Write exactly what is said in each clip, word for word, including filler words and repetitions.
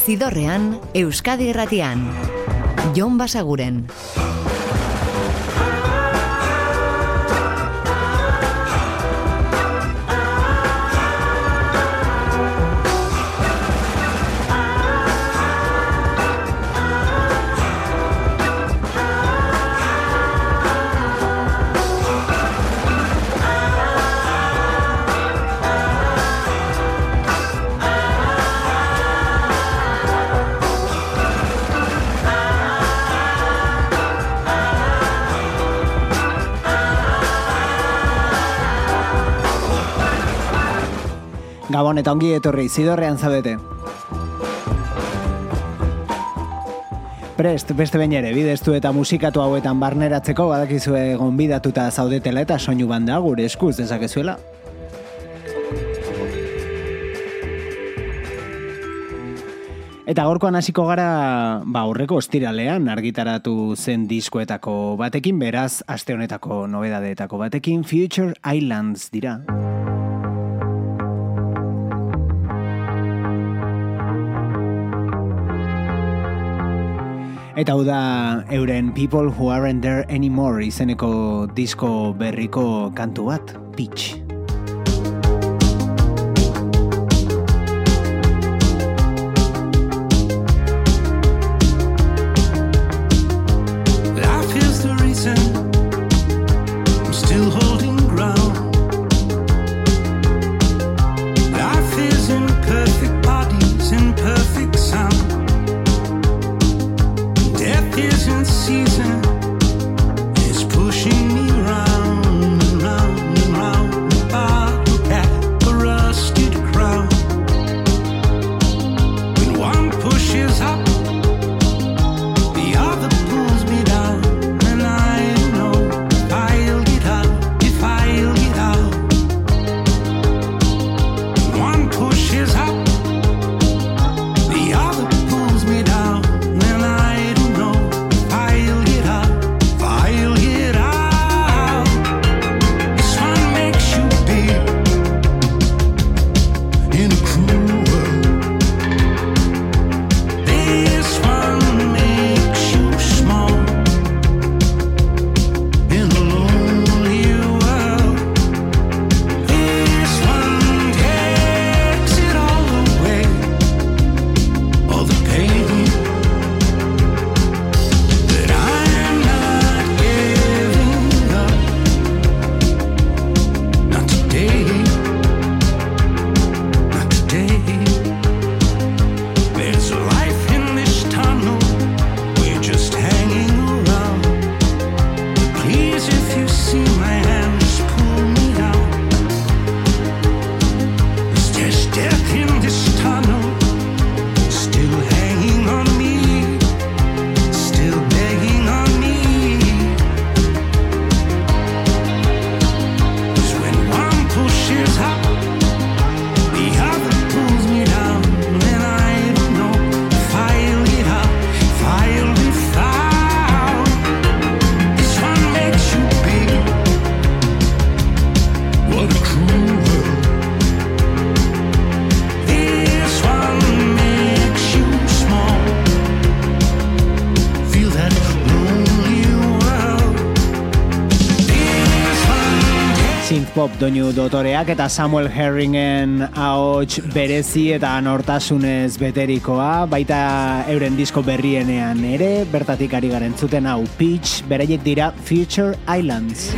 Zidorrean, Euskadi Irratian. Jon Basaguren. Gabon eta ongi etorri, Zidorrean zaudete. Prest, beste behin ere, bideztu eta musikatu hauetan barneratzeko badakizue gonbidatuta zaudetela eta soinu banda gure eskuz dezakezuela. Eta gaurkoan hasiko gara, ba aurreko ostiralean argitaratu zen diskoetako batekin, beraz, aste honetako nobedadeetako batekin, Future Islands dira. Eta hau da euren People Who Aren't There Anymore izeneko disko berriko kantu bat, Pitch. Pop doinu dotoreak eta Samuel Herringen ahots berezi eta nortasunez beterikoa, baita euren disko berrienean ere, bertatik ari garen zuten hau Pitch, beraiek dira Future Islands.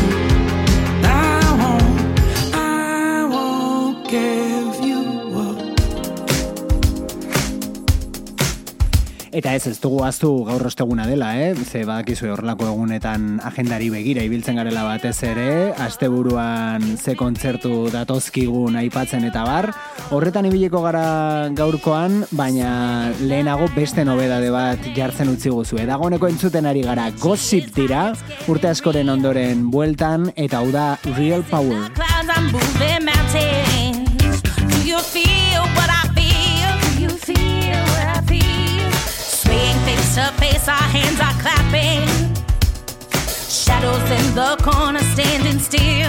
Eta ez ez dugu aztu gaur osteguna dela, eh? Ze badakizue horrelako egunetan agendari begira ibiltzen garela batez ere, asteburuan ze kontzertu datozkigun aipatzen eta bar. Horretan ibiliko gara gaurkoan, baina lehenago beste nobedade bat jartzen utzi guzue. Dagoeneko entzuten ari gara Gossip dira, urte askoren ondoren bueltan, eta hau da Real Power. Face to face, our hands are clapping. Shadows in the corner standing still.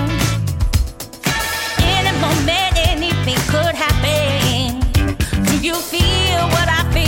In a moment, anything could happen. Do you feel what I feel?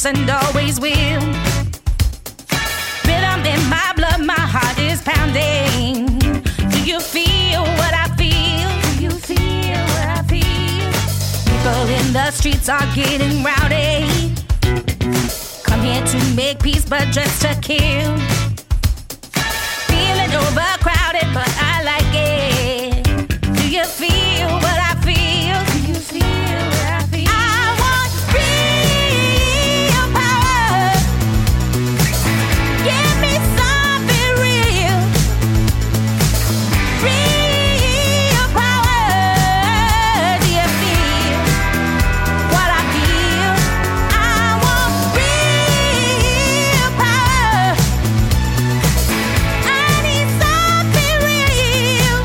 has and always will. Rhythm in my blood, my heart is pounding. Do you feel what I feel? Do you feel what I feel? People in the streets are getting rowdy. Come here to make peace, but just to kill. Feeling overcrowded, but I like it. Do you feel what I feel? Do you feel what I feel? I want real power. Give me something real. Real power. Do you feel what I feel? I want real power. I need something real.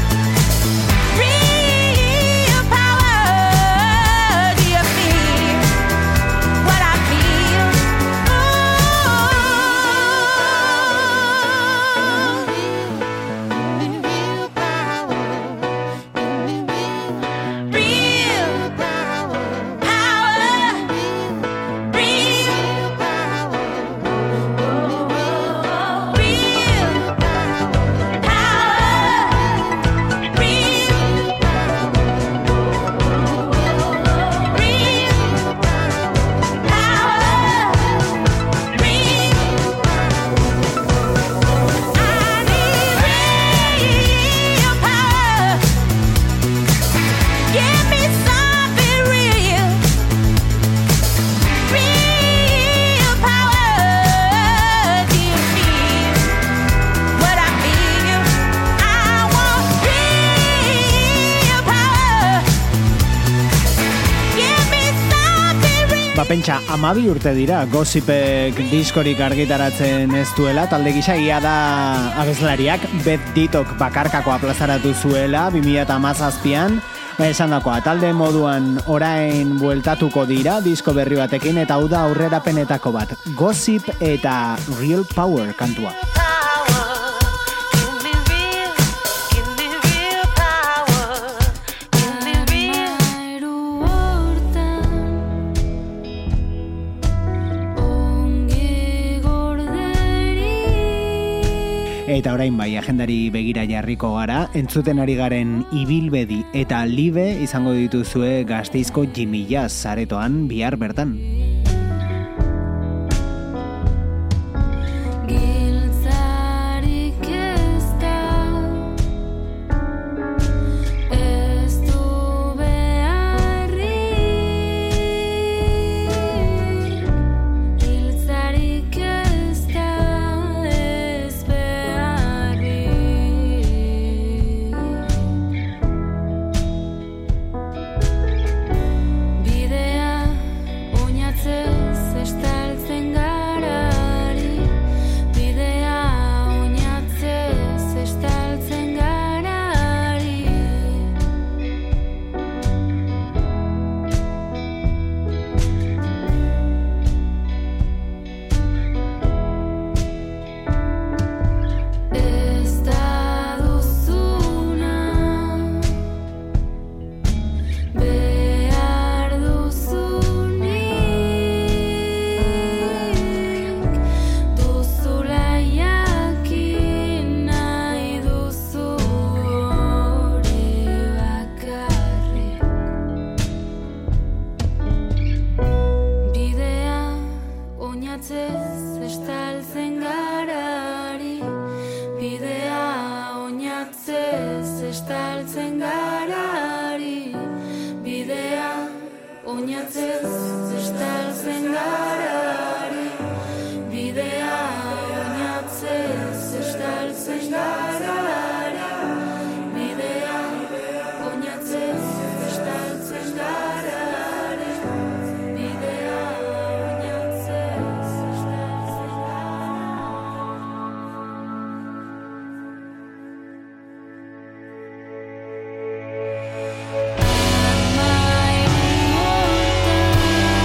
Real power. Do you feel what I feel? Real power. Real power. Real power. Give me something real. Real power. Do you feel what I feel? I want real power. Give me something real. Ba, pentsa, amabi urte dira Gossipek diskorik argitaratzen ez duela, talde gisa ia da abeslariak Beth Dittok bakarkakoa plazaratu zuela bi mila hamazazpian. Ba, esan dakoa, talde moduan orain bueltatuko dira disko berri batekin, eta hau da aurrerapenetako bat, Gossip eta Real Power kantua. Give me real, give me real power. Give me real. Eta orain bai, agendari begira jarriko gara, entzuten ari garen Ibilbedi eta Libe izango dituzue Gasteizko Jimmy Jazz aretoan bihar bertan. My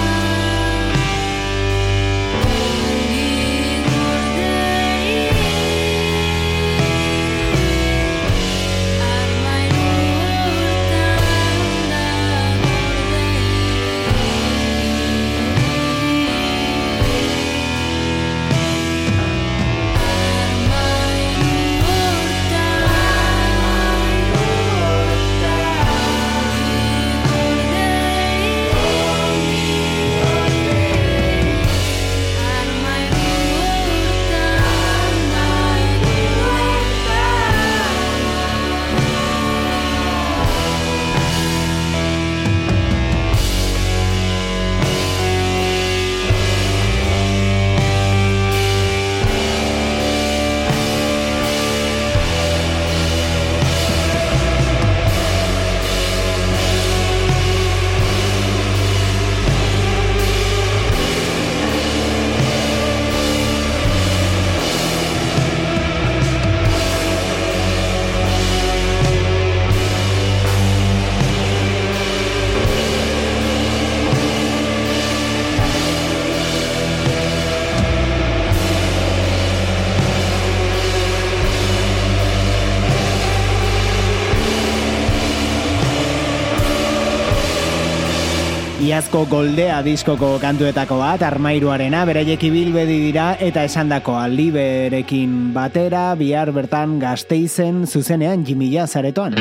Iazko Goldea diskoko kantuetako bat, Armairuarena, beraiek ibilbedi dira eta esandakoa Liberekin batera, bihar bertan Gasteizen zuzenean Jimmy Jazz aretoan.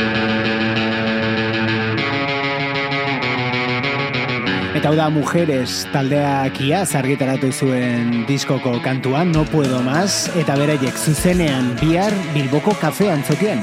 Eta hau da Mujeres taldeak iaz argitaratu zuen diskoko kantuan, No Puedo Más, eta beraiek zuzenean bihar Bilboko Kafe Antzokian.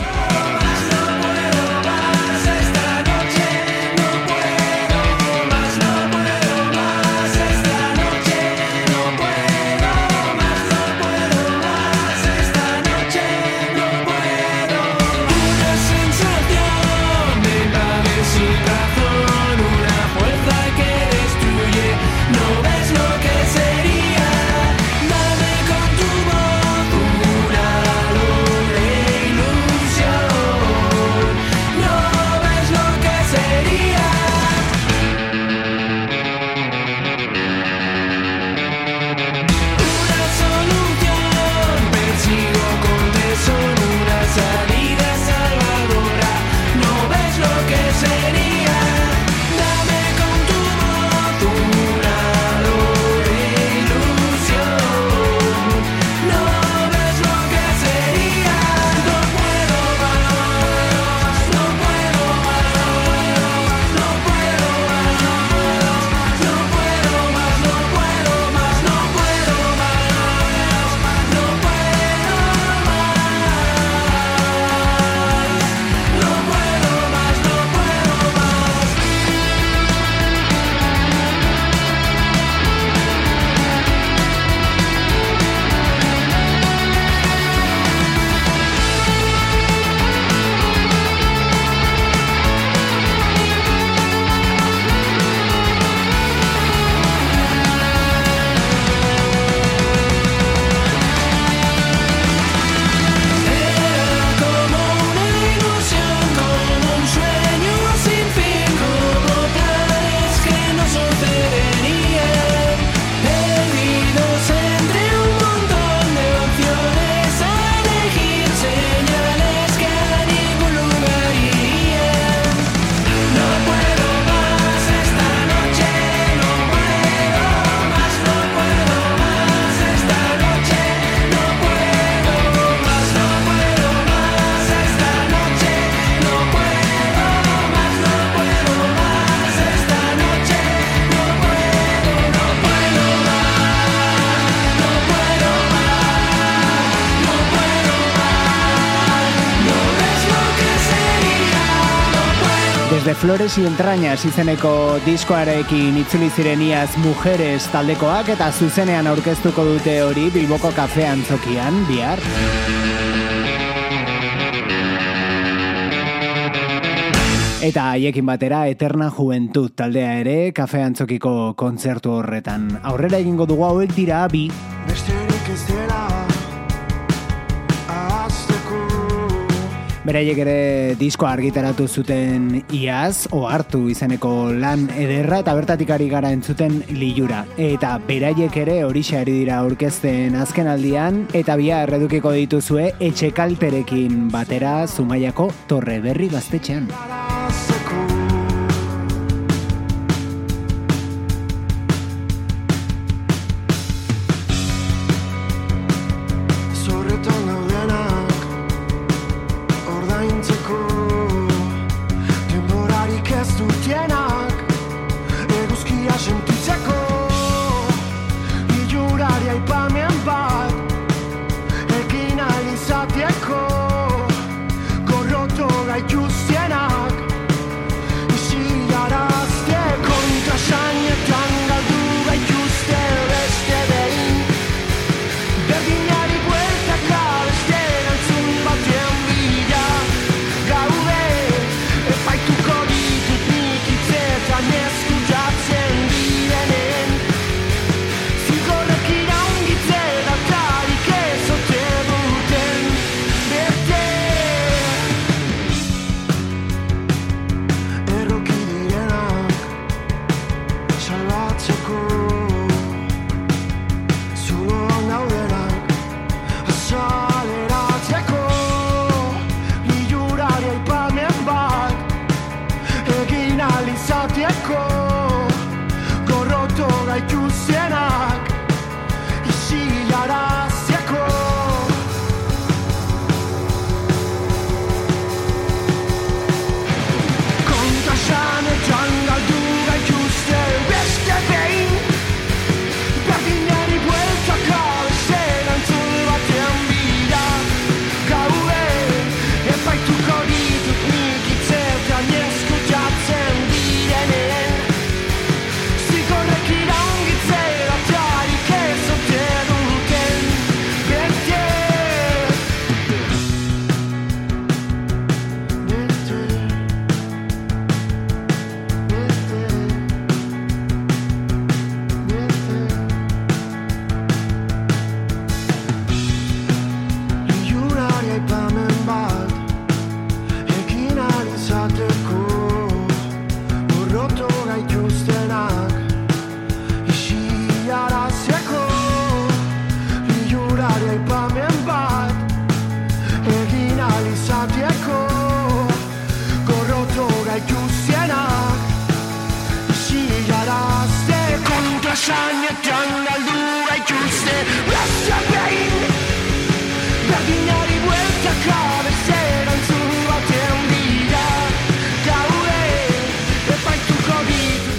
De Flores y Entrañas izeneko diskoarekin itzuli ziren iaz Mujeres taldekoak eta zuzenean aurkeztuko dute hori Bilboko Kafe Antzokian bihar. Eta haiekin batera Eterna Juventud taldea ere Kafe Antzokiko kontzertu horretan. Aurrera egingo dugu hauek dira bi. Besterik ez dela. Beraiek ere diskoa argitaratu zuten iaz, Ohartu izeneko lan ederra eta bertatik ari gara entzuten Lilura. Eta beraiek ere horixe ari dira aurkezten azken aldian, eta bihar edukiko dituzue Etxekalterekin batera Zumaiako Torre Berri gaztetxean. Gorroto gaituzienak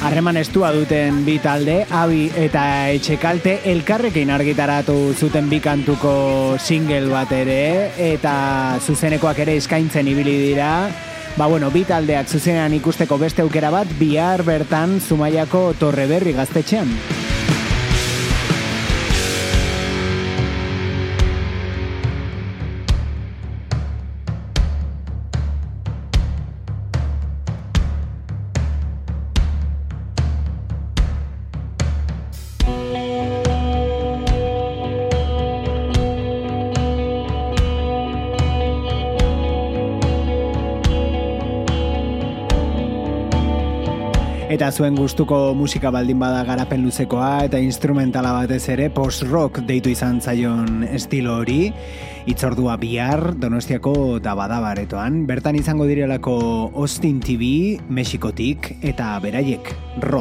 Harreman estua duten bi talde, Abi eta Etxekalte, elkarrekin argitaratu zuten bi kantuko single bat ere, eta zuzenekoak ere eskaintzen ibili dira. Ba bueno, bi taldeak zuzenean ikusteko beste aukera bat, bihar bertan Zumaiako Torreberri gaztetxean. Eta zuen gustuko musika baldin bada garapen luzekoa eta instrumentala batez ere post-rock deitu izan zaion estilo hori, itzordua bihar Donostiako Dabadabaretoan, bertan izango direlako Austin T V, Mexikotik eta beraiek, Ro.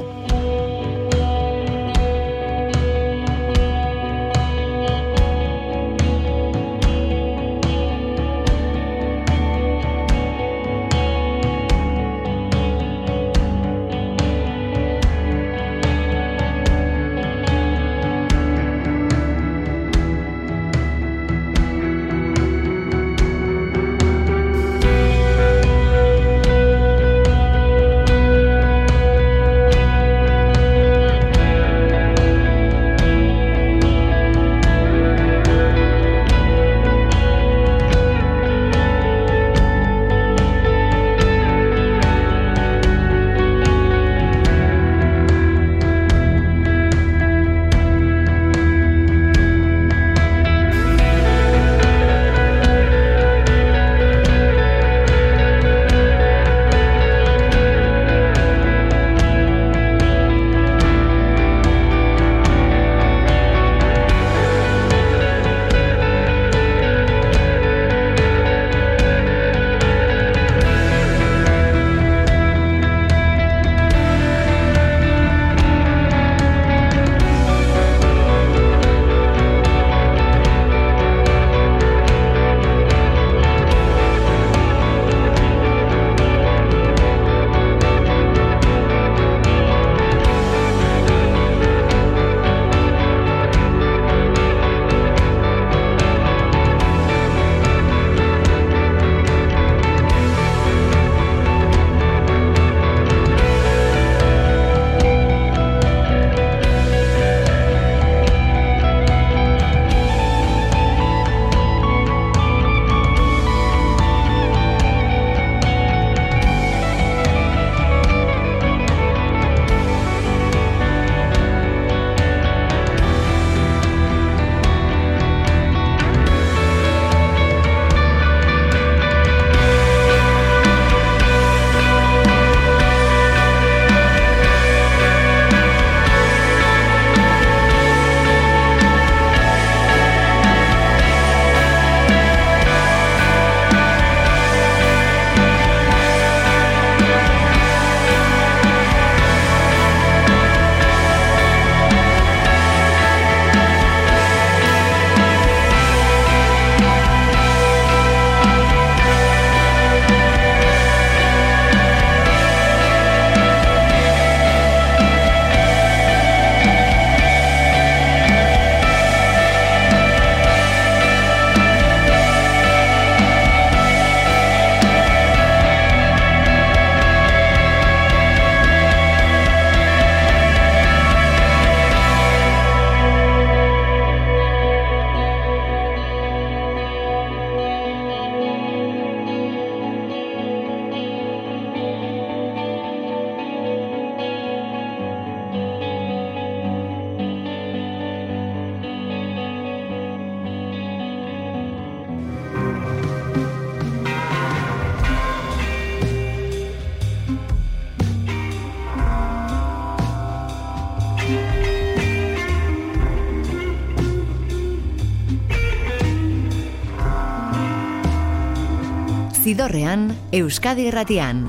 Zidorrean, Euskadi Irratian.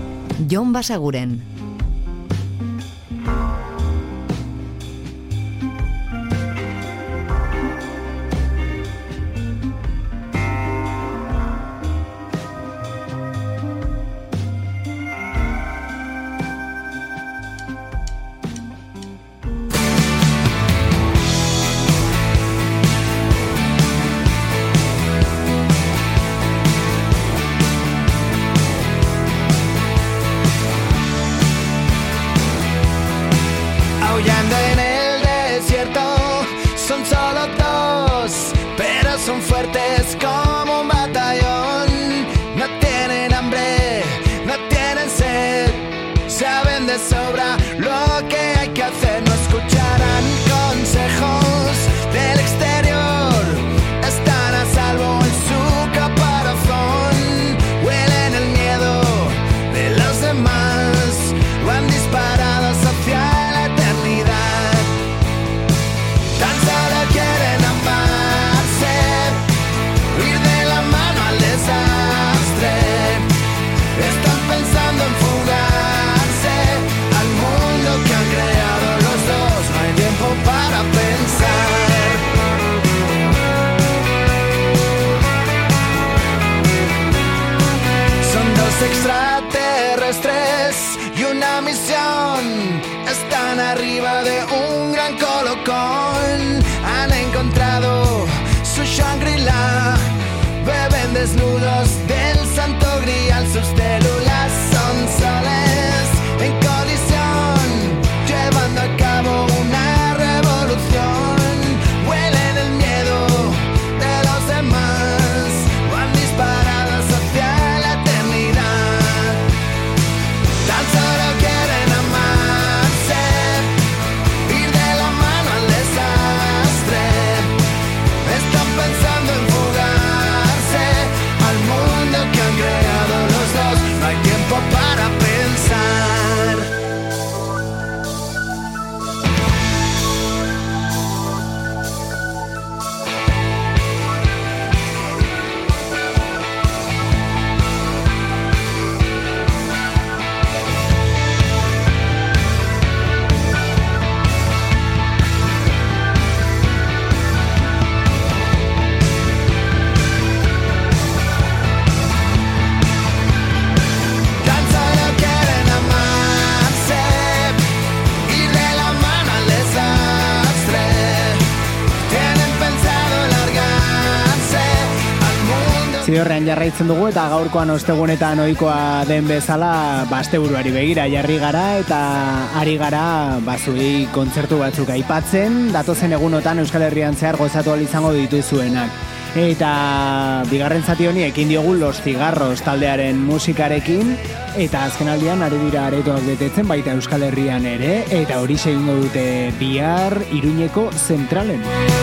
Jon Basaguren. Son solo dos, pero son fuertes como un batallón. No tienen hambre, no tienen sed, saben de sobra lo que hay que hacer. No escucharán consejos del exterior, están a salvo en su caparazón. Huelen el miedo de los demás, van disparados hacia la eternidad. Tan solo quieren amarse, ir de la mano al desastre. Están pensando en fugarse al mundo que han creado los dos. No hay tiempo para pensar. Son dos extraterrestres y una misión. Están arriba de un gran colocón. Han encontrado su Shangri-La. Beben desnudos del santo grial. Sus células son soles en colisión, llevando a cabo una revolución. Huelen el miedo de los demás, van disparados hacia la eternidad. Tan solo quieren amarse, ir de la mano al desastre. Están pensando en fugarse al mundo que han creado los dos. No hay tiempo para pensar. Tan solo quieren amarse, ir de la mano al desastre. Tienen pensado largarse al mundo. Zidorrean jarraitzen dugu eta gaurkoan ostegunetan ohikoa den bezala basteburuari begira jarri gara eta ari gara bazuei kontzertu batzuk aipatzen, datozen egunotan Euskal Herrian zehar gozatu ahal izango dituzuenak. Eta bigarren zati honi ekin diogu Los Cigarros taldearen musikarekin, eta azkenaldian ari dira aretoak betetzen baita Euskal Herrian ere, eta hori egingo dute bihar Iruñeko zentralen.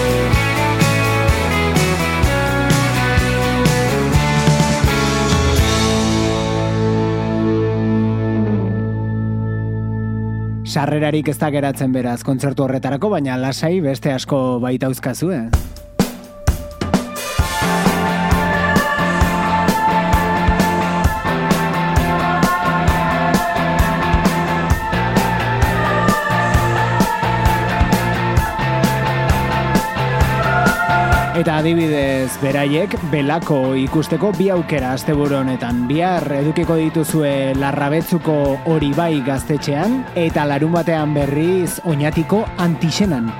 Sarrerarik ez da geratzen beraz kontzertu horretarako, baina lasai beste asko baita uzkazu, eh? Eta adibidez beraiek Belako ikusteko bi aukera asteburu honetan. Bihar edukiko dituzue Larrabetzuko Hori Bai gaztetxean eta larun batean berriz Oñatiko Antixenan.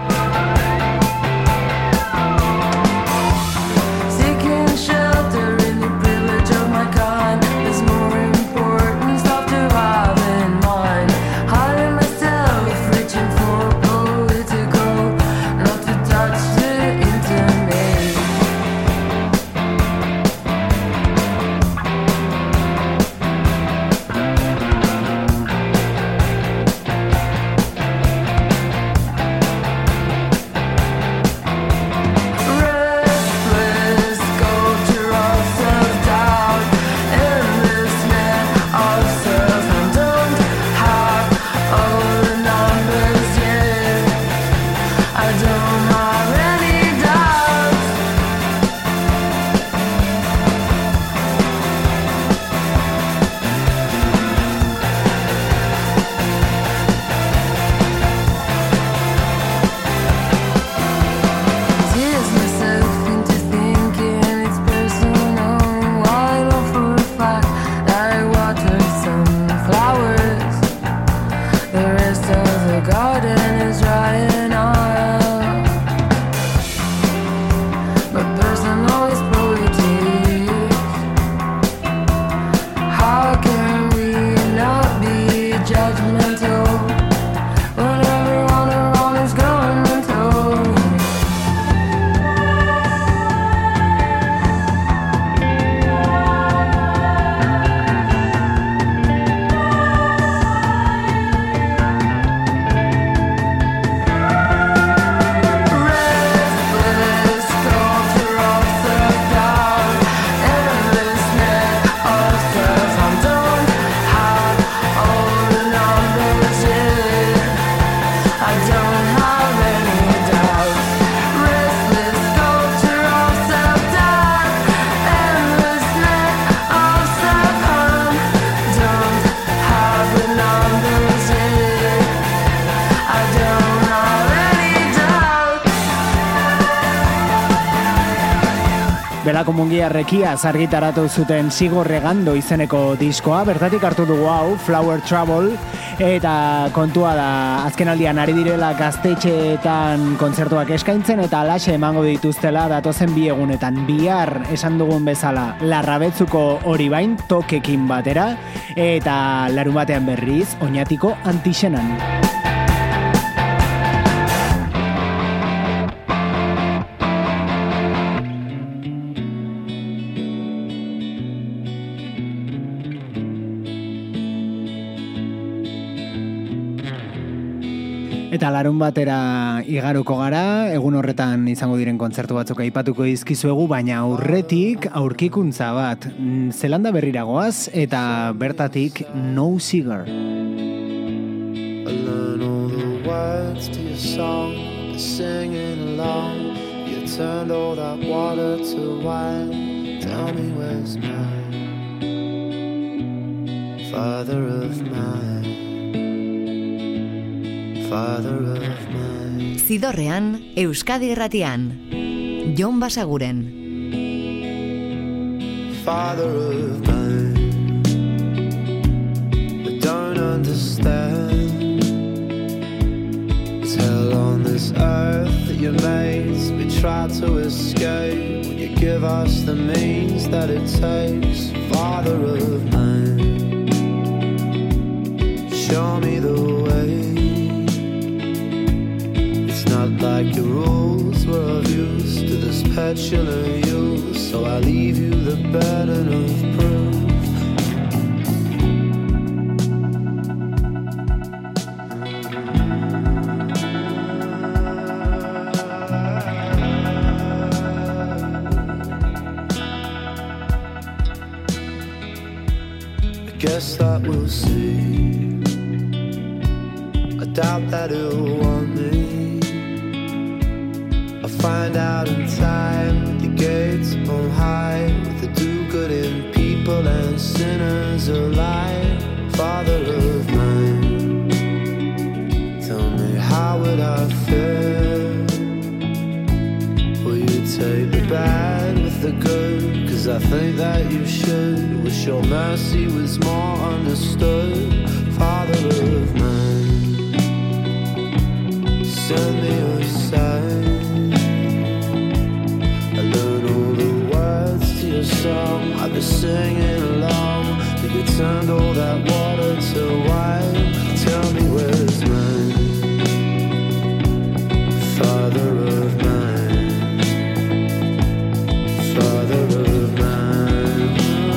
Belako mungiarrekia argitaratu zuten Sigo Regando izeneko diskoa, bertatik hartu dugu hau, Flower Trouble, eta kontua da azkenaldian ari direla gaztetxeetan kontzertuak eskaintzen eta alaxe emango dituztela datozen bi egunetan. Bihar esan dugun bezala Larrabetzuko hori bain tokekin batera eta larun batean berriz Oñatiko Antixenan. Eta larun batera igaruko gara, egun horretan izango diren kontzertu batzuk aipatuko dizkizuegu, baina aurretik aurkikuntza bat, Zelanda berriragoaz eta bertatik No Cigar. I learn all the words to your song, singing along. You turned all that water to wine. Tell me where's mine, father of mine. Father of mine. Zidorrean, Euskadi Irratian, Jon Basaguren. Father of mine, I don't understand. It's hell on this earth that you made. We try to escape. Will you give us the means that it takes? Father of mine, show me the way. Not like your rules were of use to this petulant youth, so I leave you the burden of proof. I guess that we'll see. I doubt that it'll want me. Find out in time, the gates on high, with the do-gooding people and sinners alike. Father of mine, tell me how would I feel? Will you take the bad with the good? Cause I think that you should. Wish your mercy was more understood. Father of mine, send me your sign. Song I've been singing along. You turned all that water to wine. Tell me where's mine, father of mine, father of mine.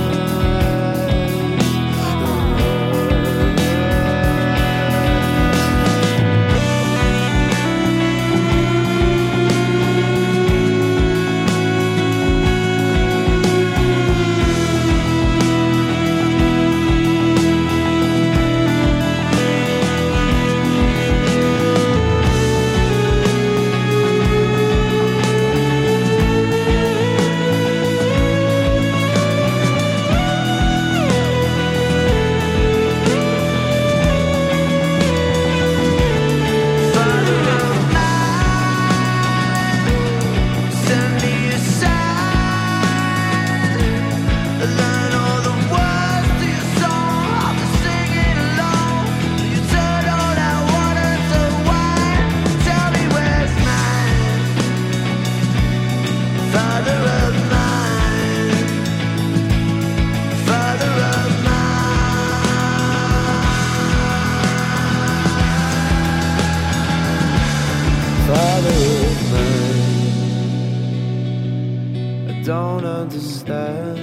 Don't understand.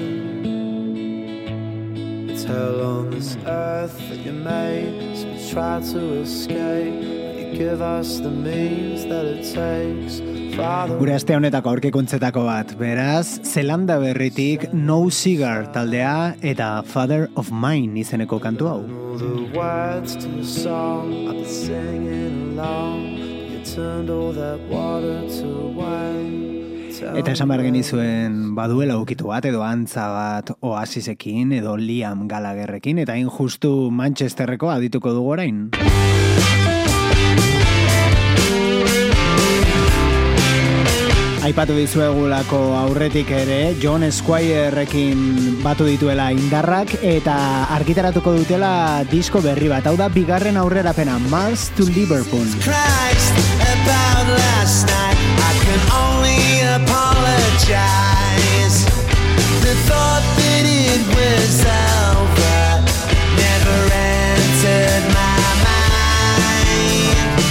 It's hell on this earth that you made, so we try to escape. You give us the means that it takes. Gure aste honetako aurkikuntzetako bat, beraz, Zelanda berritik No Cigar taldea eta Father of Mine izeneko kantu hau. Eta esan behar genizuen baduela ukitu bat edo antza bat Oasisekin edo Liam Gallagherrekin, eta hain justu Manchesterreko adituko dugu orain. Aipatu dizuegulako aurretik ere, John Squirerekin batu dituela indarrak eta argitaratuko dutela disko berri bat. Hau da bigarren aurrerapena, Mars to Liverpool. Christ, about last night, I can only apologize. The thought that it was over never entered my mind.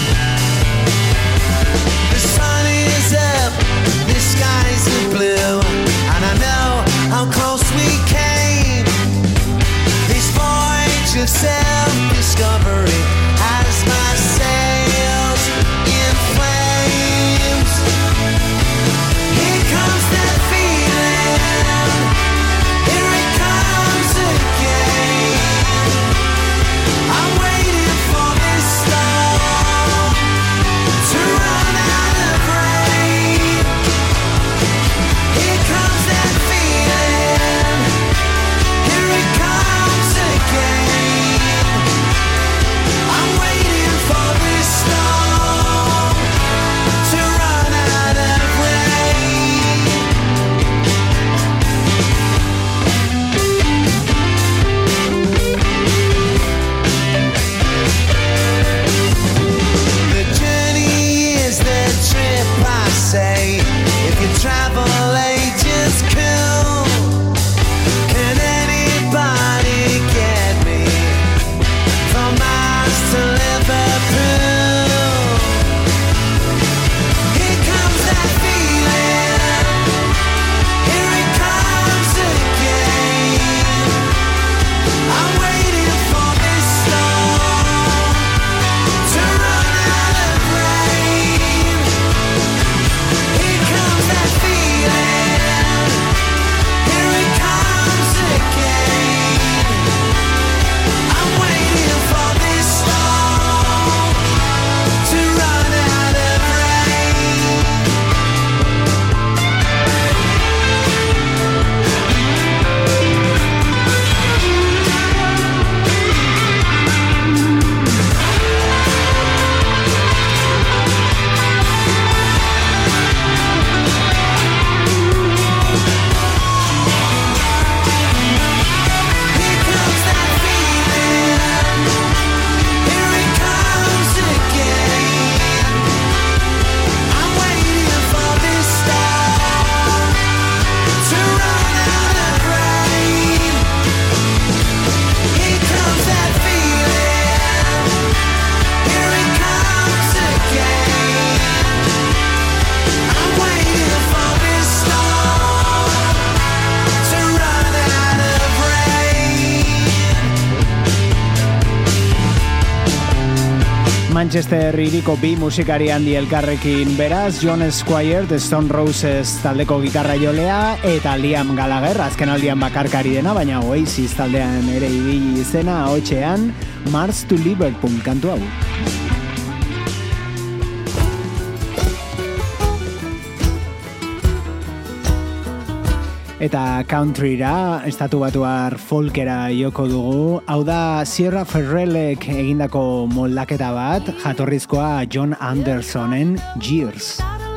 The sun is up, the skies are blue, and I know how close we came. This voyage of self-discovery has my sails in flames. Here comes that feeling, here it comes again. I'm waiting for this storm to run out of rain. Here comes that feeling, here it comes again. I'm waiting for this storm to run out of rain. The journey is the trip, I say. If you travel agents cool, can anybody get me from Mars to Liverpool? Here comes that feeling, here it comes again. I'm waiting for this storm to run out of rain. Here comes that feeling, here it comes again. I'm waiting for this storm to run out of rain. Here comes that feeling, here it comes again. I'm waiting for this storm to run out of rain. Here comes that feeling, here it comes again. I'm waiting for this storm to run out of rain. Manchester hiriko bi musikari handi elkarrekin beraz, John Squire, The Stone Roses taldeko gitarra jolea, eta Liam Gallagher, azken aldian bakarkari dena, baina Oasis taldean ere ibili izena, ahotsean Mars to Liverpool kantu hau. Eta countryra, estatu batuar folkera joko dugu, hau da Sierra Ferrellek egindako moldaketa bat, jatorrizkoa John Andersonen Years.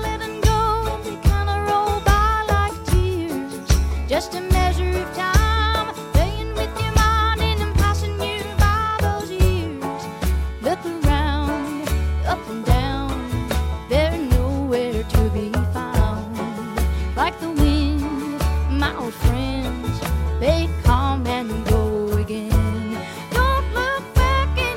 Just a measure of time, playing with your mind and passing you by those years. Look around, up and down, they're nowhere to be found. Like the wind, my old friends, they come and go again. Don't look back in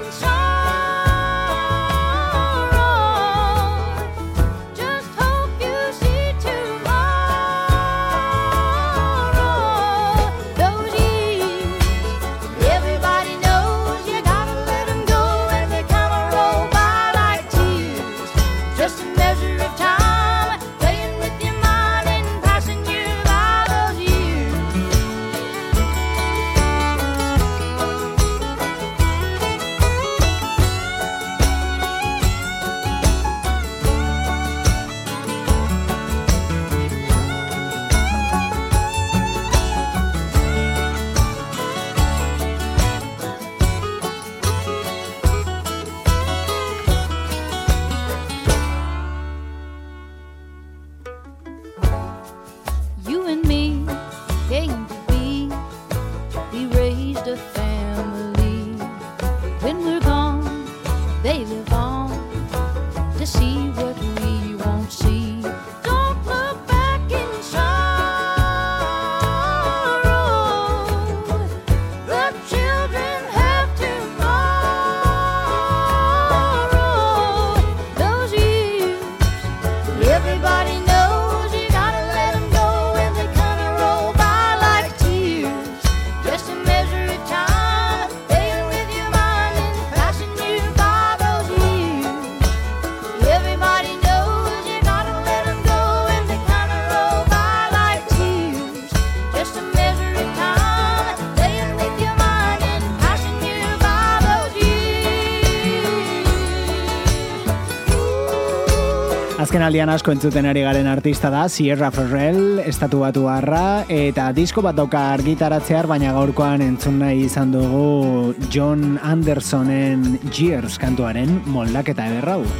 sorrow, just hope you see tomorrow. Those years, everybody knows you gotta let 'em go, and they come and roll by like tears. Just a measure of time, playing with your mind and passing you by those years. Azken aldian asko entzuten ari garen artista da Sierra Ferrell, estatu batuarra, eta disko bat dauka argitaratzear, baina gaurkoan entzun nahi izan dugu John Andersonen Years kantuaren moldaketa ederra hau.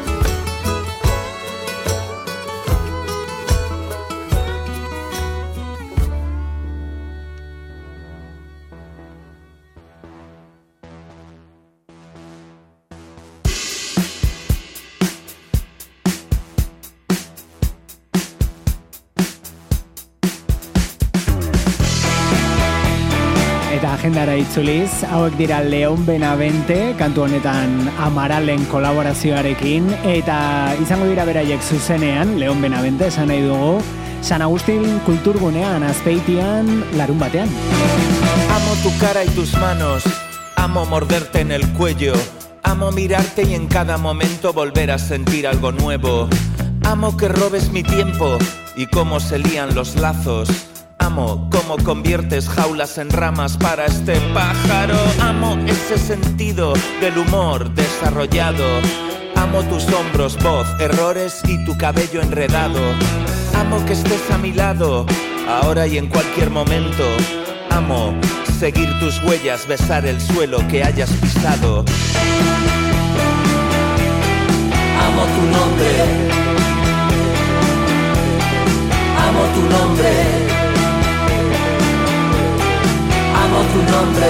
Agendara itzuliz, hauek dira Leon Benavente, kantu honetan Amaralen kolaborazioarekin, eta izango dira beraiek zuzenean, Leon Benavente esan nahi dugu, San Agustín kulturgunean, Azpeitian, larun batean. Amo tu cara y tus manos, amo morderte en el cuello, amo mirarte y en cada momento volver a sentir algo nuevo. Amo que robes mi tiempo y cómo se lían los lazos. Amo cómo conviertes jaulas en ramas para este pájaro. Amo ese sentido del humor desarrollado. Amo tus hombros, voz, errores y tu cabello enredado. Amo que estés a mi lado, ahora y en cualquier momento. Amo seguir tus huellas, besar el suelo que hayas pisado. Amo tu nombre. Amo tu nombre. Amo tu nombre.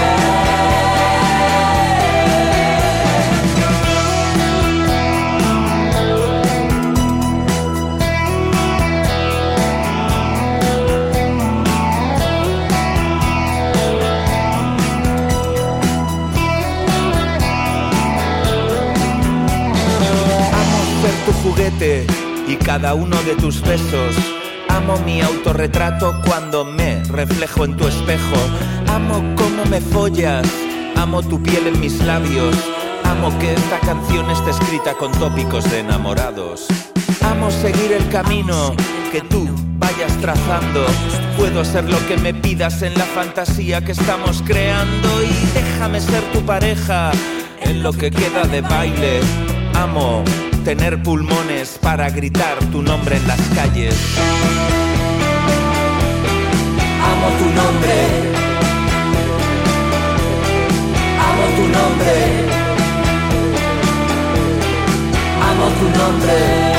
Amo ser tu juguete y cada uno de tus besos. Amo mi autorretrato cuando me reflejo en tu espejo. Amo cómo me follas, amo tu piel en mis labios. Amo que esta canción esté escrita con tópicos de enamorados. Amo seguir el camino que tú vayas trazando. Puedo ser lo que me pidas en la fantasía que estamos creando. Y déjame ser tu pareja en lo que queda de baile. Amo tener pulmones para gritar tu nombre en las calles. Amo tu nombre. Amo tu nombre. Amo tu nombre.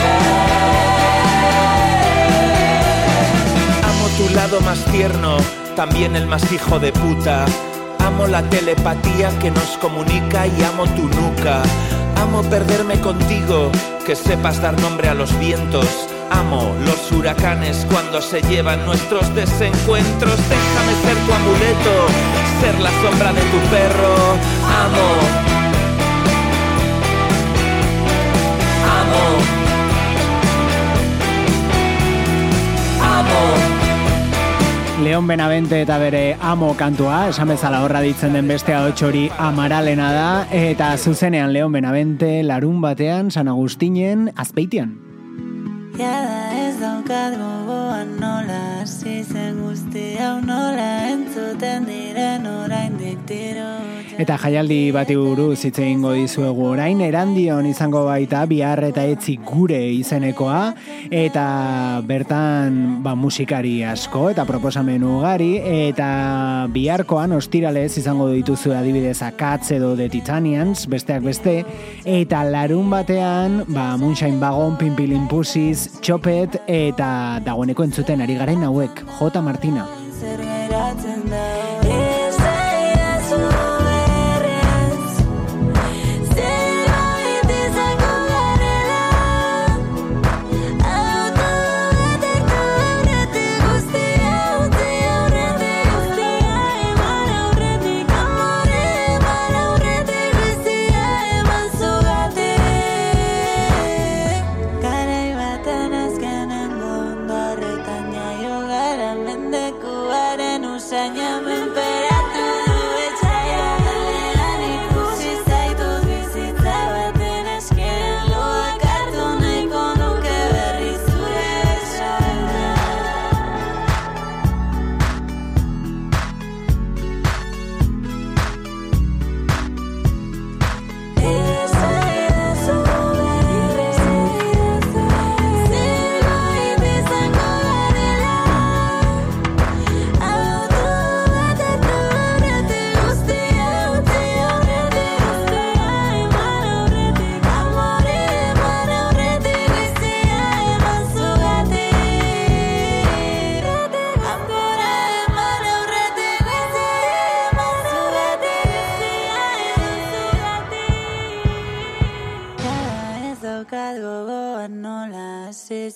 Amo tu lado más tierno, también el más hijo de puta. Amo la telepatía que nos comunica y amo tu nuca. Amo perderme contigo, que sepas dar nombre a los vientos. Amo los huracanes cuando se llevan nuestros desencuentros. Déjame ser tu amuleto, ser la sombra de tu perro. Amo. Amo. Amo. Leon Benavente eta bere Amo kantua, esan bezala horra ditzen den beste ahots hori Amaralena da, eta zuzenean Leon Benavente larun batean San Agustinen Azpeitian. Jada ez daukat gogoan nola hasi zen guzti hau nola entzuten diren oraindik tiro. Eta jaialdi bati buruz hitz egingo dizuegu orain, Erandion izango baita Bihar eta Etzi gure izenekoa, eta bertan ba, musikari asko eta proposamen ugari, eta biharkoan ostiralez izango dituzu adibidez Akatz edo The Titanians, besteak beste, eta larun batean ba, Moonshine Wagon, Pinpilin Pussies, Txopet, eta dagoeneko entzuten ari garen hauek, J. Martina. Zer geratzen da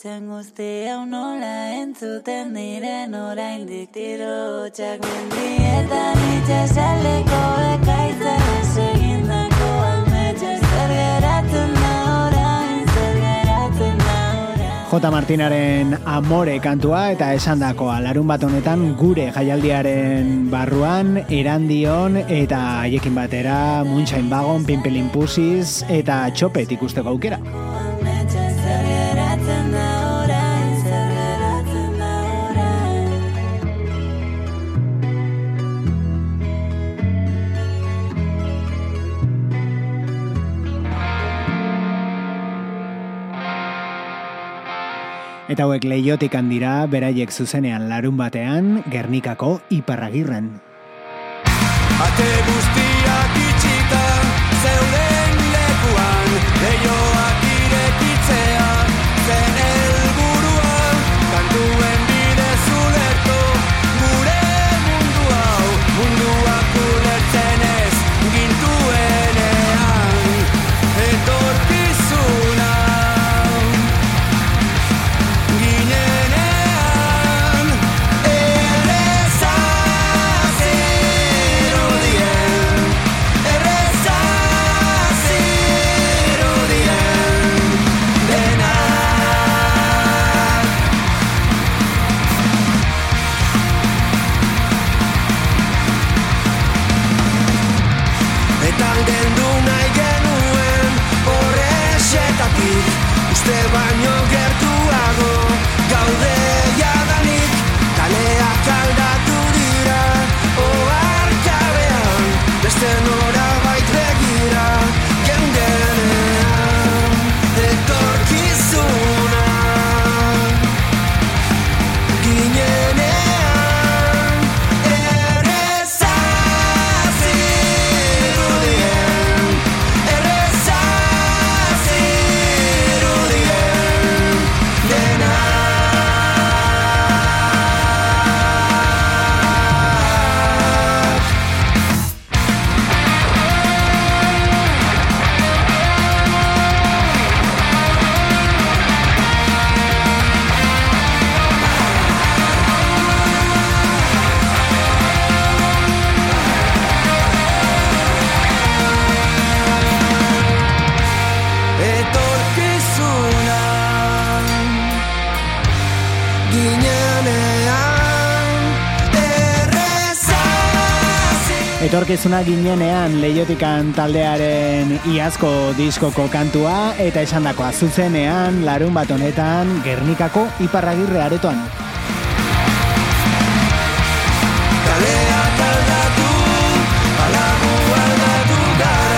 hitzen guzti hau nola entzuten diren oraindik tiro hotxak mendietan itxasaldeko ekaitzan esegindako ametsa zer geratzen da orain, zer geratzen da orain. J. Martinaren Amore kantua eta esandakoa larun bat honetan gure jaialdiaren barruan Erandion eta haiekin batera Moonshine Wagon, Pimpelin Pussies eta Txopet ikusteko aukera. Eta hauek Leiotik handira, beraiek zuzenean larun batean, Gernikako Iparragirren. Ate guztiak itxita, zeuden lekuan, leioak irekitzea, zen helburua, kantuen bidez ulertu, gure mundu hau, munduak ulertzen ez, gintuenean, etorkizuna. Uste baino gertuago gaude jadanik, kaleak aldatu dira, oharkabean beste norabait begira, geundenean etorkizuna ginenean erreza zirudien, erreza Etorkizuna ginenean Leiotikan taldearen iazko diskoko kantua eta esandakoa zuzenean larun bat honetan Gernikako Iparragirre aretoan. Kaleak aldatu, alagu aldatu gara.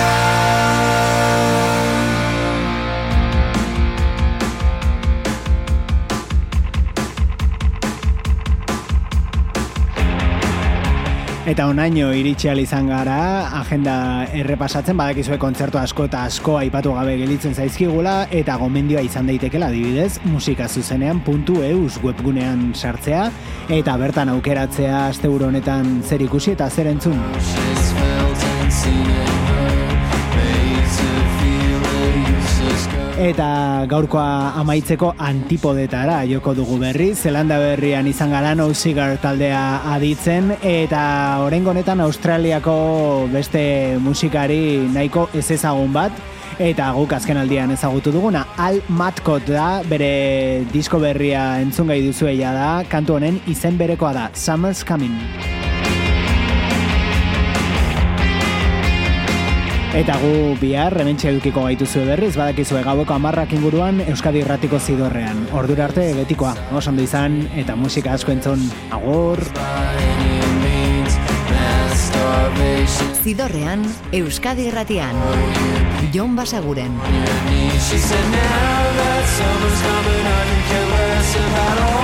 Eta onaino iritsi ahal izan gara, agenda errepasatzen, badakizue kontzertu asko eta asko aipatu gabe gelitzen zaizkigula, eta gomendioa izan daitekela adibidez, musikazuzenean puntu eus webgunean sartzea, eta bertan aukeratzea asteburu honetan zer ikusi eta zer entzun. Eta gaurkoa amaitzeko Antipodetara joko dugu berri, Zelanda berrian izan gara No Cigar taldea aditzen, eta oraingo honetan Australiako beste musikari nahiko ezezagun bat, eta guk azken aldian ezagutu duguna, Al Matkot da, bere disko berria entzun gai duzueia da, kantu honen izen berekoa da, Summer's Coming. Eta gu bihar hementxe edukiko gaituzue berriz, badakizue gaueko hamarrak inguruan Euskadi Irratiko Zidorrean. Ordura arte betikoa, oso ondo izan eta musika asko entzun. Agur! Zidorrean, Euskadi Irratian. Jon Basaguren. She said now that summer's coming, I can care less about all